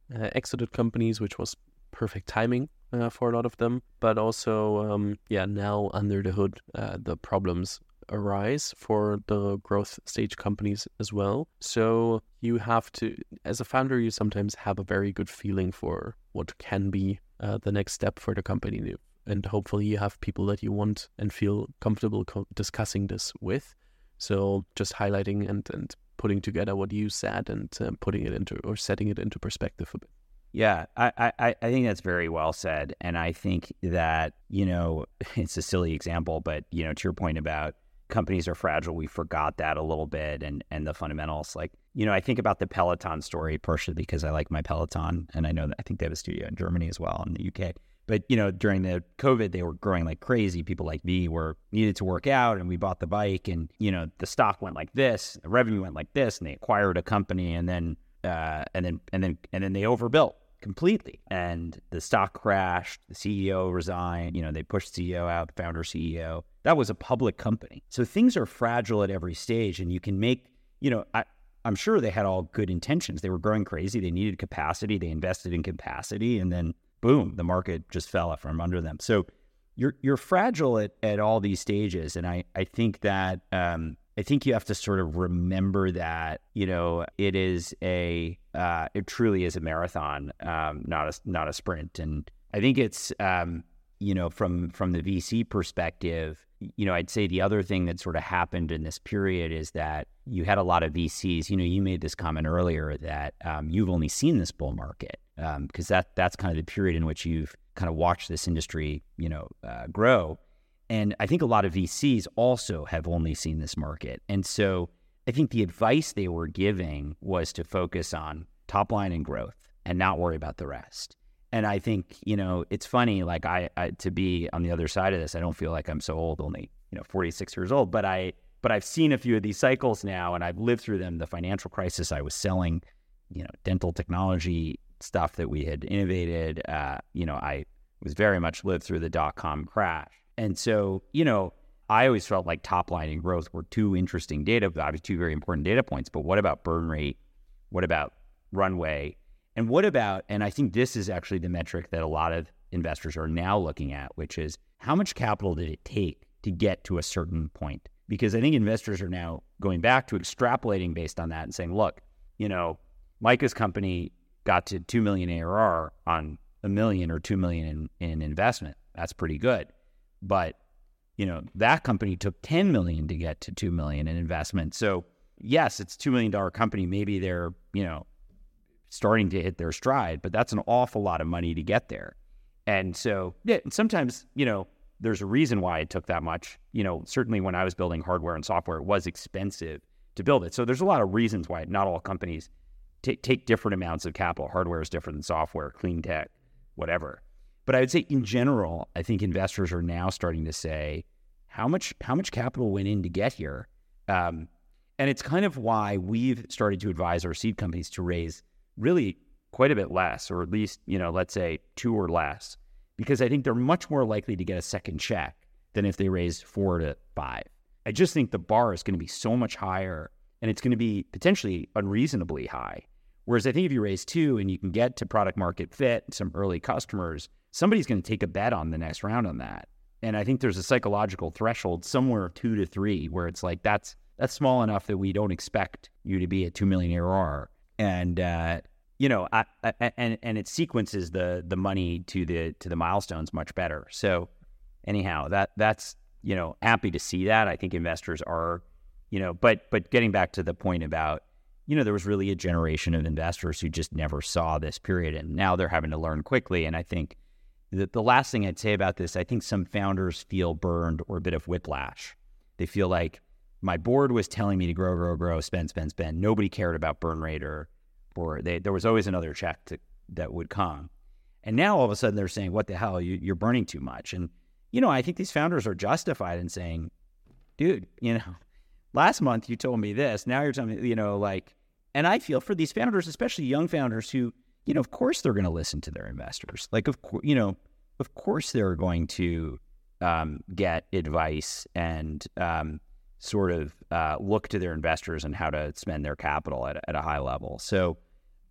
uh, exited companies, which was perfect timing uh, for a lot of them. But also, um, yeah, now under the hood, uh, the problems arise for the growth stage companies as well. So you have to, as a founder, you sometimes have a very good feeling for what can be uh, the next step for the company. And hopefully you have people that you want and feel comfortable co- discussing this with. So just highlighting and, and putting together what you said and uh, putting it into, or setting it into perspective a bit. Yeah, I, I, I think that's very well said. And I think that, you know, it's a silly example, but, you know, to your point about companies are fragile, we forgot that a little bit, and and the fundamentals. Like, you know, I think about the Peloton story partially because I like my Peloton, and I know that I think they have a studio in Germany as well, in the U K. But, you know, during the COVID, they were growing like crazy. People like me were needed to work out, and we bought the bike, and, you know, the stock went like this, the revenue went like this, and they acquired a company, and then uh, and then and then and then they overbuilt completely, and the stock crashed. The C E O resigned. You know, they pushed C E O out, the founder C E O. That was a public company. So things are fragile at every stage, and you can make, you know, I, I'm sure they had all good intentions. They were growing crazy. They needed capacity. They invested in capacity, and then boom, the market just fell from under them. So you're you're fragile at, at all these stages, and I I think that um, I think you have to sort of remember that, you know, it is a uh, it truly is a marathon, um, not a not a sprint. And I think it's um, you know, from from the V C perspective, you know, I'd say the other thing that sort of happened in this period is that you had a lot of V Cs. You know, you made this comment earlier that um, you've only seen this bull market because um, that that's kind of the period in which you've kind of watched this industry, you know, uh, grow. And I think a lot of V Cs also have only seen this market. And so I think the advice they were giving was to focus on top line and growth and not worry about the rest. And I think, you know, it's funny, like I, I to be on the other side of this, I don't feel like I'm so old, only, you know, forty-six years old, but I, but I've seen a few of these cycles now, and I've lived through them. The financial crisis, I was selling, you know, dental technology stuff that we had innovated. Uh, you know, I was very much lived through the dot-com crash. And so, you know, I always felt like top line and growth were two interesting data, obviously two very important data points, but what about burn rate? What about runway? And what about, and I think this is actually the metric that a lot of investors are now looking at, which is how much capital did it take to get to a certain point? Because I think investors are now going back to extrapolating based on that and saying, look, you know, Micah's company got to two million A R R on a million or two million in, in investment. That's pretty good. But, you know, that company took ten million to get to two million in investment. So yes, it's a two million dollars company. Maybe they're, you know, starting to hit their stride, but that's an awful lot of money to get there. And so, yeah, sometimes, you know, there's a reason why it took that much. You know, certainly when I was building hardware and software, it was expensive to build it. So there's a lot of reasons why not all companies t- take different amounts of capital. Hardware is different than software, clean tech, whatever. But I would say in general, I think investors are now starting to say, how much how much capital went in to get here? Um, and it's kind of why we've started to advise our seed companies to raise really quite a bit less, or at least, you know, let's say two or less, because I think they're much more likely to get a second check than if they raise four to five. I just think the bar is going to be so much higher, and it's going to be potentially unreasonably high. Whereas I think if you raise two and you can get to product market fit, some early customers, somebody's going to take a bet on the next round on that. And I think there's a psychological threshold somewhere two to three where it's like, that's that's small enough that we don't expect you to be at two million A R R. And, uh, you know, I, I, and and it sequences the the money to the to the milestones much better. So anyhow, that that's, you know, happy to see that. I think investors are, you know, but but getting back to the point about, you know, there was really a generation of investors who just never saw this period, and now they're having to learn quickly. And I think the, the last thing I'd say about this, I think some founders feel burned or a bit of whiplash. They feel like my board was telling me to grow, grow, grow, spend, spend, spend. Nobody cared about burn rate, or or they, there was always another check to, that would come. And now all of a sudden they're saying, what the hell, you, you're burning too much. And, you know, I think these founders are justified in saying, dude, you know, last month you told me this, now you're telling me, you know, like, and I feel for these founders, especially young founders who, you know, of course they're going to listen to their investors. Like, of course, you know, of course they're going to um, get advice and um, sort of uh, look to their investors and how to spend their capital at, at a high level. So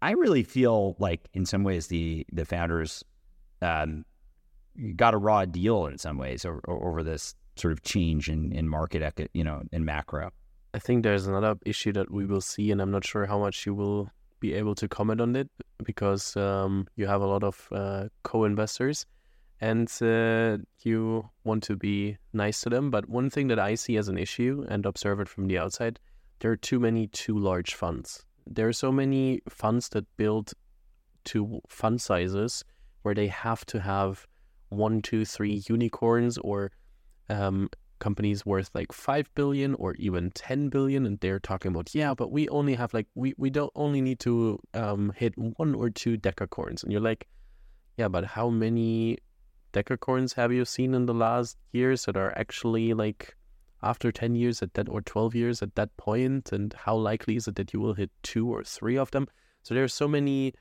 I really feel like in some ways the the founders um, got a raw deal in some ways over, over this sort of change in, in market, eco- you know, in macro. I think there's another issue that we will see, and I'm not sure how much you will be able to comment on it, because um, you have a lot of uh, co-investors and uh, you want to be nice to them. But one thing that I see as an issue and observe it from the outside, there are too many too large funds. There are so many funds that build to fund sizes where they have to have one, two, three unicorns or um, companies worth like five billion or even ten billion. And they're talking about, yeah, but we only have like, we, we don't only need to um, hit one or two decacorns. And you're like, yeah, but how many decacorns have you seen in the last years that are actually like after ten years at that, or twelve years at that point? And how likely is it that you will hit two or three of them? So there are so many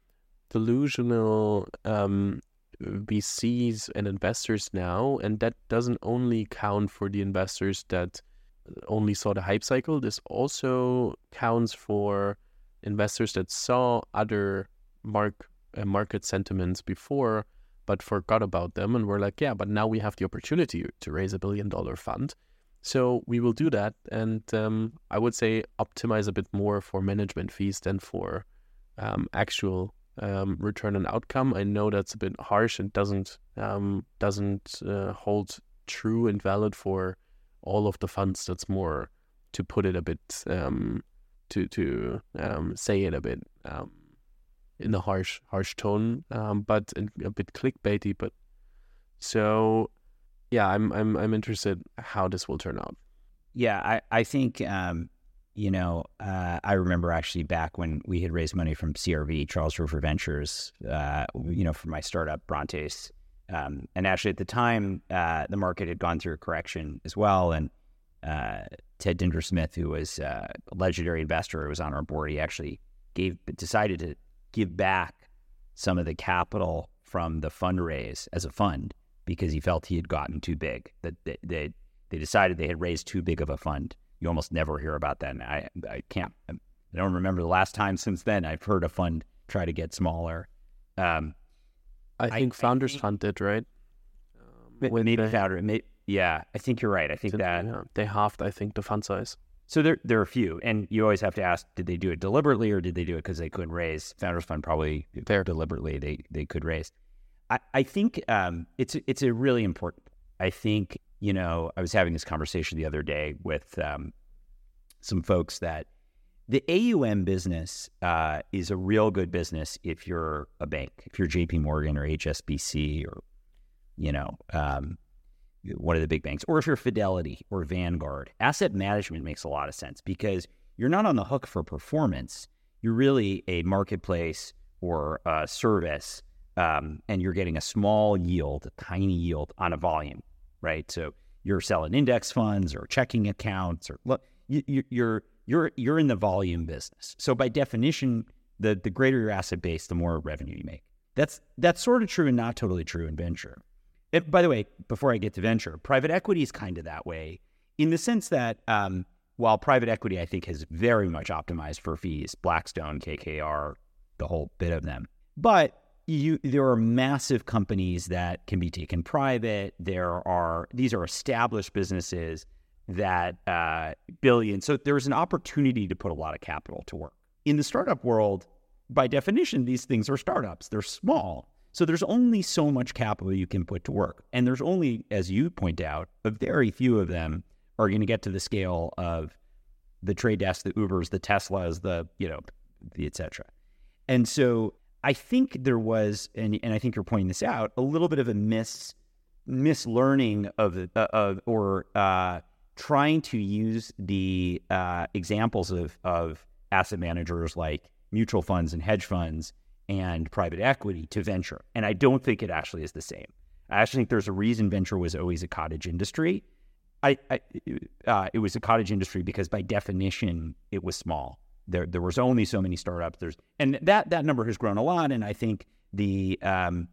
delusional um, V Cs and investors now, and that doesn't only count for the investors that only saw the hype cycle. This also counts for investors that saw other mark uh, market sentiments before, but forgot about them and were like, yeah, but now we have the opportunity to raise a billion dollar fund. So we will do that. And um, I would say optimize a bit more for management fees than for um, actual um, return on outcome. I know that's a bit harsh and doesn't um, doesn't uh, hold true and valid for all of the funds. That's more to put it a bit, um, to to um, say it a bit um, in a harsh harsh tone, um, but a bit clickbaity. But so. Yeah, I'm I'm I'm interested how this will turn out. Yeah, I I think um, you know uh, I remember actually back when we had raised money from C R V, Charles River Ventures, uh, you know, for my startup Brontes, um, and actually at the time uh, the market had gone through a correction as well, and uh, Ted Dintersmith, who was uh, a legendary investor, who was on our board, he actually gave decided to give back some of the capital from the fundraise as a fund, because he felt he had gotten too big, that they, they they decided they had raised too big of a fund. You almost never hear about that. And I I can't, I don't remember the last time since then I've heard a fund try to get smaller. Um, I think I, Founders I think, Fund did, right? Um, maybe the, Founder, may, yeah, I think you're right. I think that. Yeah, they halved, I think, the fund size. So there, there are a few. And you always have to ask, did they do it deliberately or did they do it because they couldn't raise? Founders Fund probably Fair. deliberately they, they could raise. I, I think um, it's it's a really important. I think, you know, I was having this conversation the other day with um, some folks that the A U M business uh, is a real good business if you're a bank, if you're J P Morgan or H S B C or, you know, um, one of the big banks, or if you're Fidelity or Vanguard. Asset management makes a lot of sense because you're not on the hook for performance. You're really a marketplace or a service. Um, and you're getting a small yield, a tiny yield on a volume, right? So you're selling index funds or checking accounts, or look, you, you, you're you're you're in the volume business. So by definition, the the greater your asset base, the more revenue you make. That's that's sort of true and not totally true in venture. It, by the way, before I get to venture, private equity is kind of that way, in the sense that um, while private equity I think has very much optimized for fees, Blackstone, K K R, the whole bit of them, but You, there are massive companies that can be taken private. There are, these are established businesses that uh, billions. So there's an opportunity to put a lot of capital to work. In the startup world, by definition, these things are startups. They're small. So there's only so much capital you can put to work. And there's only, as you point out, a very few of them are going to get to the scale of the Trade Desk, the Ubers, the Teslas, the, you know, the et cetera. And so I think there was, and, and I think you're pointing this out, a little bit of a mis mislearning of, uh, of or uh, trying to use the uh, examples of, of asset managers like mutual funds and hedge funds and private equity to venture. And I don't think it actually is the same. I actually think there's a reason venture was always a cottage industry. I, I uh, it was a cottage industry because by definition it was small. There, there was only so many startups. There's, and that that number has grown a lot. And I think the, um,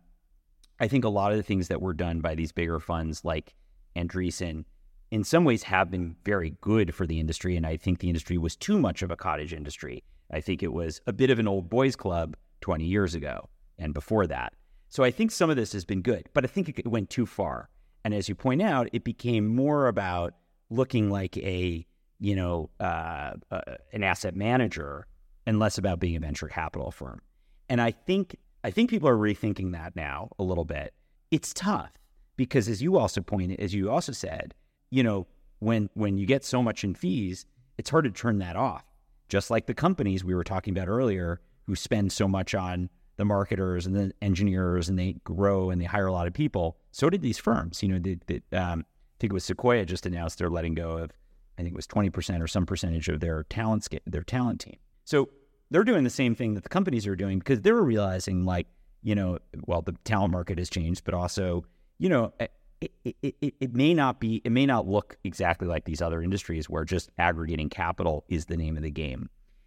I think a lot of the things that were done by these bigger funds like Andreessen, in some ways, have been very good for the industry. And I think the industry was too much of a cottage industry. I think it was a bit of an old boys club twenty years ago and before that. So I think some of this has been good, but I think it went too far. And as you point out, it became more about looking like a, you know, uh, uh, an asset manager and less about being a venture capital firm. And I think I think people are rethinking that now a little bit. It's tough because, as you also pointed, as you also said, you know, when when you get so much in fees, it's hard to turn that off. Just like the companies we were talking about earlier, who spend so much on the marketers and the engineers, and they grow and they hire a lot of people. So did these firms. You know, they, they, um, I think it was Sequoia just announced they're letting go of, I think it was twenty percent or some percentage of their talent their talent team. So they're doing the same thing that the companies are doing because they're realizing, like, you know, well, the talent market has changed, but also, you know, it, it, it, it may not be, it may not look exactly like these other industries where just aggregating capital is the name of the game.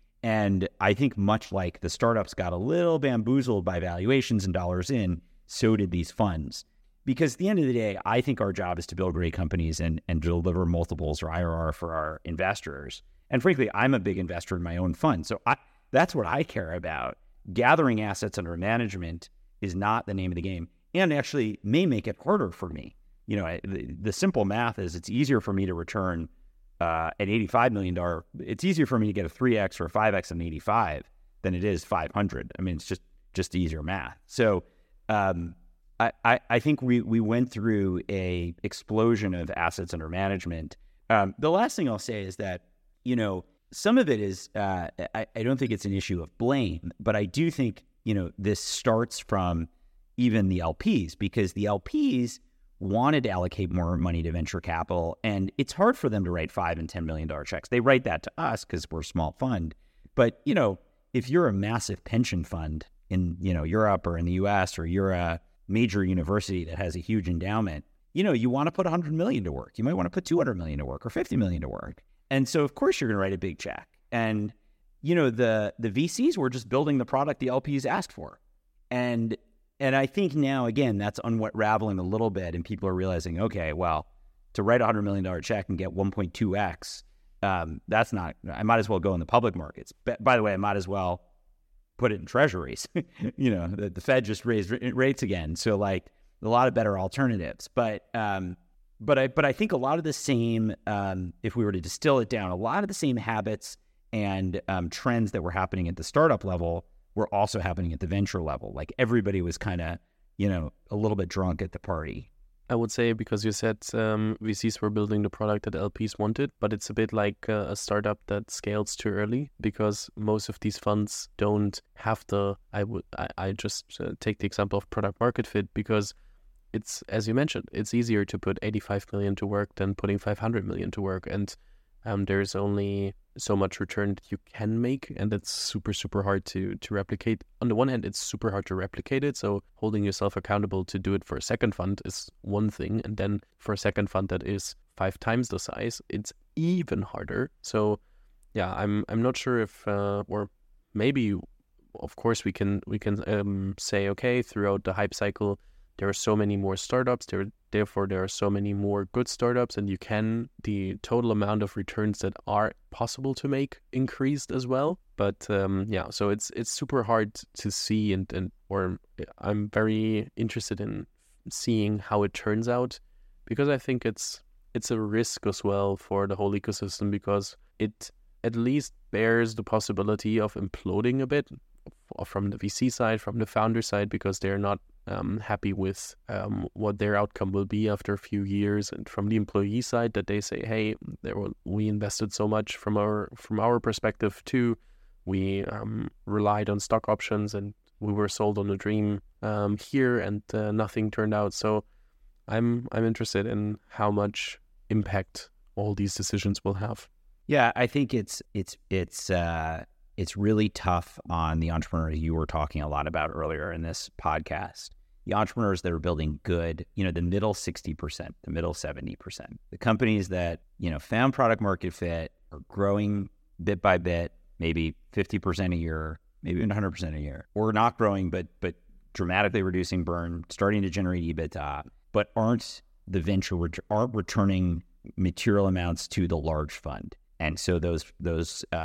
And I think much like the startups got a little bamboozled by valuations and dollars in, so did these funds. Because at the end of the day, I think our job is to build great companies and, and deliver multiples or I R R for our investors. And frankly, I'm a big investor in my own fund. So I, that's what I care about. Gathering assets under management is not the name of the game, and actually may make it harder for me. You know, I, the, the simple math is it's easier for me to return uh, an eighty-five million dollars. It's easier for me to get a three X or a five X on eighty-five than it is five hundred. I mean, it's just just easier math. So um, I, I, I think we we went through a explosion of assets under management. Um, the last thing I'll say is that, you know, some of it is, uh, I, I don't think it's an issue of blame, but I do think, you know, this starts from even the L Ps, because the L Ps wanted to allocate more money to venture capital, and it's hard for them to write five and ten million dollar checks. They write that to us because we're a small fund. But, you know, if you're a massive pension fund in, you know, Europe or in the U S, or you're a major university that has a huge endowment, you know, you want to put one hundred million to work. You might want to put two hundred million to work or fifty million to work. And so, of course, you're going to write a big check. And, you know, the the V Cs were just building the product the L Ps asked for. And and I think now, again, that's unraveling a little bit, and people are realizing, okay, well, to write a one hundred million dollar check and get one point two X, um, that's not, I might as well go in the public markets. But, by the way, I might as well put it in treasuries. You know, the, the Fed just raised rates again. So, like, a lot of better alternatives. But um, but I but I think a lot of the same, um, if we were to distill it down, a lot of the same habits and um, trends that were happening at the startup level were also happening at the venture level. Like, everybody was kind of, you know, a little bit drunk at the party. I would say, because you said um, V Cs were building the product that L Ps wanted, but it's a bit like uh, a startup that scales too early, because most of these funds don't have the, I would, I, I just uh, take the example of product market fit, because it's, as you mentioned, it's easier to put eighty-five million to work than putting five hundred million to work. And um, there's only so much return that you can make, and that's super, super hard to to replicate. On the one hand, it's super hard to replicate it, so holding yourself accountable to do it for a second fund is one thing, and then for a second fund that is five times the size, it's even harder. So yeah, I'm I'm not sure if uh, or maybe, of course, we can we can um, say, okay, throughout the hype cycle, there are so many more startups, there therefore there are so many more good startups, and you can, the total amount of returns that are possible to make increased as well. But um, yeah, so it's it's super hard to see, and, and or I'm very interested in seeing how it turns out, because I think it's it's a risk as well for the whole ecosystem, because it at least bears the possibility of imploding a bit from the V C side, from the founder side, because they're not um, happy with um, what their outcome will be after a few years, and from the employee side, that they say, hey, there were, we invested so much from our from our perspective too. We um, relied on stock options, and we were sold on a dream um, here, and uh, nothing turned out. So I'm I'm interested in how much impact all these decisions will have. Yeah, I think it's it's it's uh, it's really tough on the entrepreneurs you were talking a lot about earlier in this podcast. The entrepreneurs that are building good, you know, the middle sixty percent, the middle seventy percent, the companies that, you know, found product market fit, are growing bit by bit, maybe fifty percent a year, maybe even one hundred percent a year, or not growing, but but dramatically reducing burn, starting to generate EBITDA, but aren't the venture, aren't returning material amounts to the large fund. And so those those um,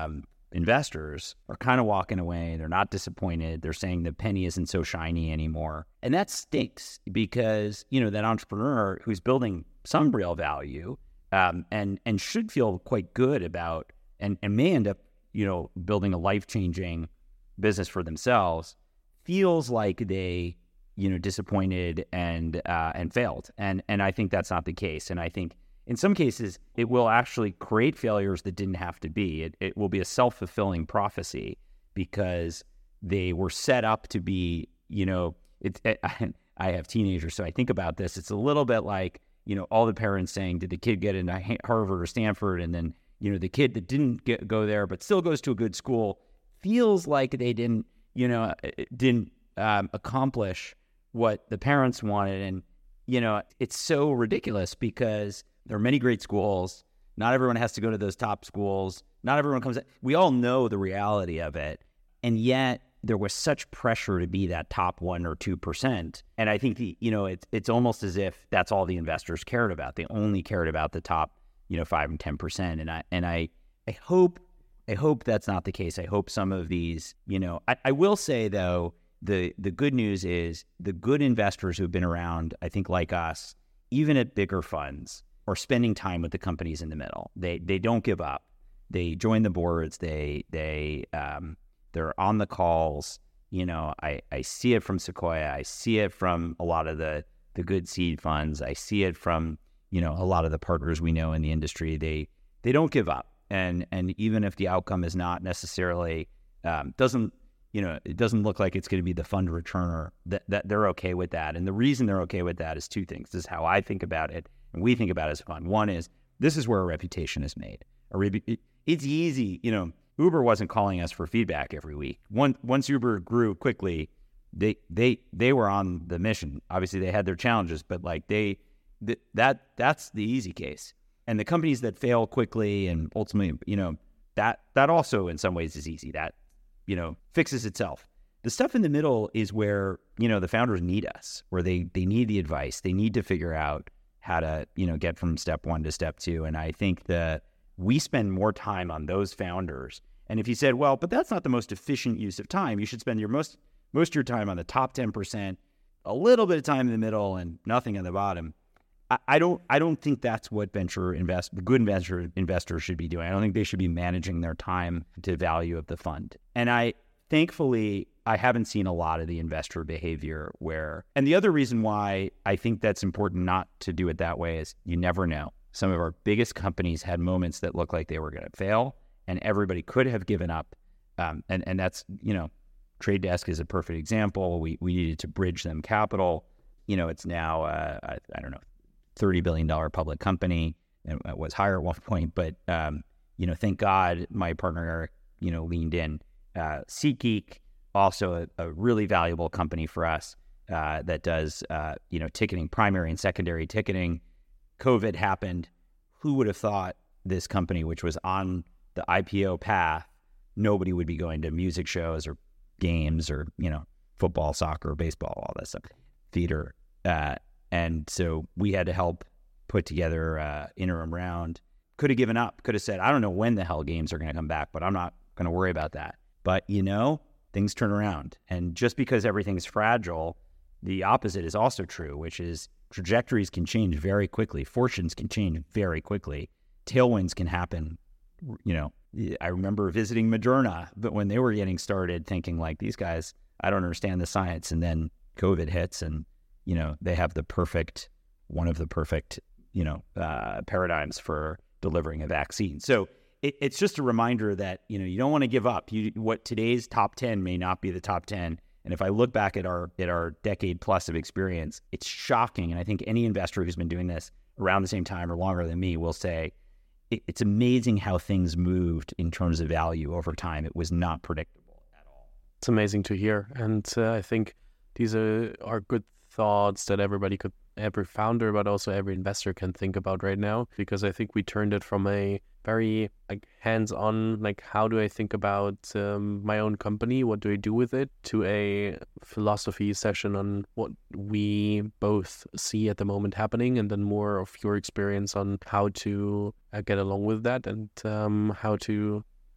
investors are kind of walking away. They're not disappointed. They're saying the penny isn't so shiny anymore. And that stinks because, you know, that entrepreneur who's building some real value um, and and should feel quite good about and, and may end up, you know, building a life-changing business for themselves, feels like they, you know, disappointed and uh, and failed. And and I think that's not the case. And I think in some cases, it will actually create failures that didn't have to be. It, it will be a self-fulfilling prophecy because they were set up to be, you know, it, it, I have teenagers, so I think about this. It's a little bit like, you know, all the parents saying, did the kid get into Harvard or Stanford? And then, you know, the kid that didn't get, go there but still goes to a good school feels like they didn't, you know, didn't um, accomplish what the parents wanted. And, you know, it's so ridiculous because there are many great schools. Not everyone has to go to those top schools. Not everyone comes. We all know the reality of it. And yet there was such pressure to be that top one or two percent. And I think, the, you know, it's it's almost as if that's all the investors cared about. They only cared about the top, you know, five and ten percent. And I and I I hope I hope that's not the case. I hope some of these, you know, I, I will say though, the the good news is the good investors who've been around, I think like us, even at bigger funds, are spending time with the companies in the middle. They they don't give up. They join the boards. They they um, they're on the calls. You know, I, I see it from Sequoia. I see it from a lot of the the good seed funds. I see it from, you know, a lot of the partners we know in the industry. They they don't give up. And and even if the outcome is not necessarily um, doesn't you know it doesn't look like it's going to be the fund returner, that that they're okay with that. And the reason they're okay with that is two things. This is how I think about it. And we think about it as a fund. One is, this is where a reputation is made. A re- it's easy, you know, Uber wasn't calling us for feedback every week. Once, once Uber grew quickly, they they they were on the mission. Obviously, they had their challenges, but like they, th- that that's the easy case. And the companies that fail quickly and ultimately, you know, that that also in some ways is easy. That, you know, fixes itself. The stuff in the middle is where, you know, the founders need us, where they they need the advice. They need to figure out how to, you know, get from step one to step two. And I think that we spend more time on those founders. And if you said, well, but that's not the most efficient use of time, you should spend your most most of your time on the top ten percent, a little bit of time in the middle and nothing on the bottom. I, I don't I don't think that's what venture invest good venture investors should be doing. I don't think they should be managing their time to value of the fund. And I thankfully I haven't seen a lot of the investor behavior where, and the other reason why I think that's important not to do it that way is you never know. Some of our biggest companies had moments that looked like they were going to fail and everybody could have given up. Um, and, and that's, you know, Trade Desk is a perfect example. We we needed to bridge them capital. You know, it's now, uh, I, I don't know, thirty billion dollars public company. And it was higher at one point, but, um, you know, thank God my partner, Eric, you know, leaned in. Uh, SeatGeek, also a, a really valuable company for us uh, that does, uh, you know, ticketing, primary and secondary ticketing. COVID happened. Who would have thought this company, which was on the I P O path, nobody would be going to music shows or games or, you know, football, soccer, baseball, all that stuff, theater. Uh, and so we had to help put together an interim round. Could have given up, could have said, I don't know when the hell games are going to come back, but I'm not going to worry about that. But, you know, things turn around. And just because everything's fragile, the opposite is also true, which is trajectories can change very quickly. Fortunes can change very quickly. Tailwinds can happen. You know, I remember visiting Moderna, but when they were getting started thinking like, these guys, I don't understand the science. And then COVID hits and, you know, they have the perfect, one of the perfect, you know, uh, paradigms for delivering a vaccine. So it, it's just a reminder that, you know, you don't want to give up. You, what today's top ten may not be the top ten. And if I look back at our at our decade plus of experience, it's shocking. And I think any investor who's been doing this around the same time or longer than me will say, it, it's amazing how things moved in terms of value over time. It was not predictable at all. It's amazing to hear. And uh, I think these are, are good thoughts that everybody could, every founder, but also every investor can think about right now, because I think we turned it from a very like hands-on, like how do I think about um, my own company, what do I do with it, to a philosophy session on what we both see at the moment happening, and then more of your experience on how to uh, get along with that and um, how to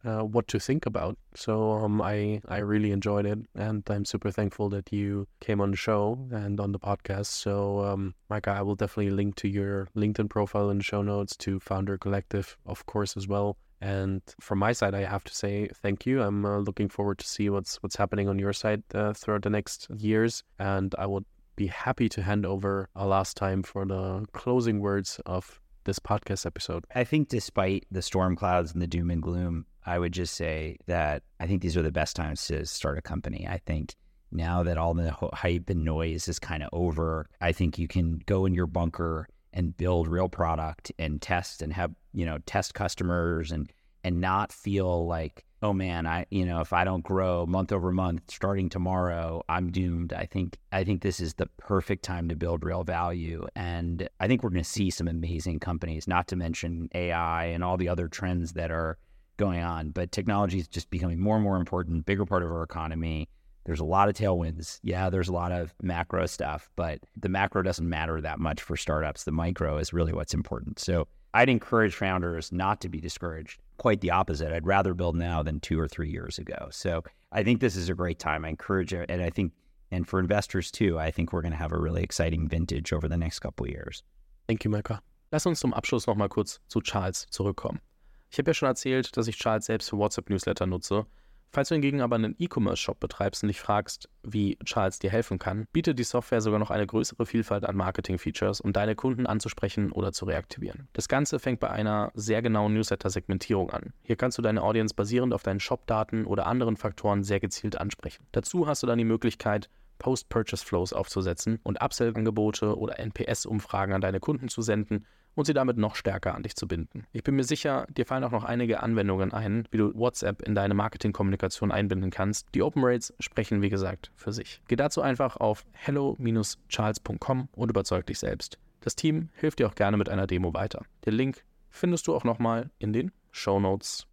uh, what to think about. So um, I, I really enjoyed it, and I'm super thankful that you came on the show and on the podcast. So um, Micah, I will definitely link to your LinkedIn profile in the show notes, to Founder Collective, of course, as well. And from my side, I have to say thank you. I'm uh, looking forward to see what's what's happening on your side uh, throughout the next years. And I would be happy to hand over a last time for the closing words of this podcast episode. I think despite the storm clouds and the doom and gloom, I would just say that I think these are the best times to start a company. I think now that all the hype and noise is kind of over, I think you can go in your bunker and build real product and test and have, you know, test customers and and not feel like, oh man, I, you know, if I don't grow month over month starting tomorrow, I'm doomed. I think I think this is the perfect time to build real value. And I think we're going to see some amazing companies, not to mention A I and all the other trends that are going on. But technology is just becoming more and more important, bigger part of our economy. There's a lot of tailwinds. Yeah, there's a lot of macro stuff, but the macro doesn't matter that much for startups. The micro is really what's important. So I'd encourage founders not to be discouraged. Quite the opposite. I'd rather build now than two or three years ago. So I think this is a great time. I encourage it. And I think, and for investors too, I think we're going to have a really exciting vintage over the next couple of years. Thank you, Micah. Lass uns zum Abschluss nochmal kurz zu Charles zurückkommen. Ich habe ja schon erzählt, dass ich Charles selbst für WhatsApp-Newsletter nutze. Falls du hingegen aber einen E-Commerce-Shop betreibst und dich fragst, wie Charles dir helfen kann, bietet die Software sogar noch eine größere Vielfalt an Marketing-Features, um deine Kunden anzusprechen oder zu reaktivieren. Das Ganze fängt bei einer sehr genauen Newsletter-Segmentierung an. Hier kannst du deine Audience basierend auf deinen Shop-Daten oder anderen Faktoren sehr gezielt ansprechen. Dazu hast du dann die Möglichkeit, Post-Purchase-Flows aufzusetzen und Upsell-Angebote oder N P S-Umfragen an deine Kunden zu senden und sie damit noch stärker an dich zu binden. Ich bin mir sicher, dir fallen auch noch einige Anwendungen ein, wie du WhatsApp in deine Marketingkommunikation einbinden kannst. Die Open Rates sprechen, wie gesagt, für sich. Geh dazu einfach auf hello dash charles punkt com und überzeug dich selbst. Das Team hilft dir auch gerne mit einer Demo weiter. Den Link findest du auch nochmal in den Shownotes.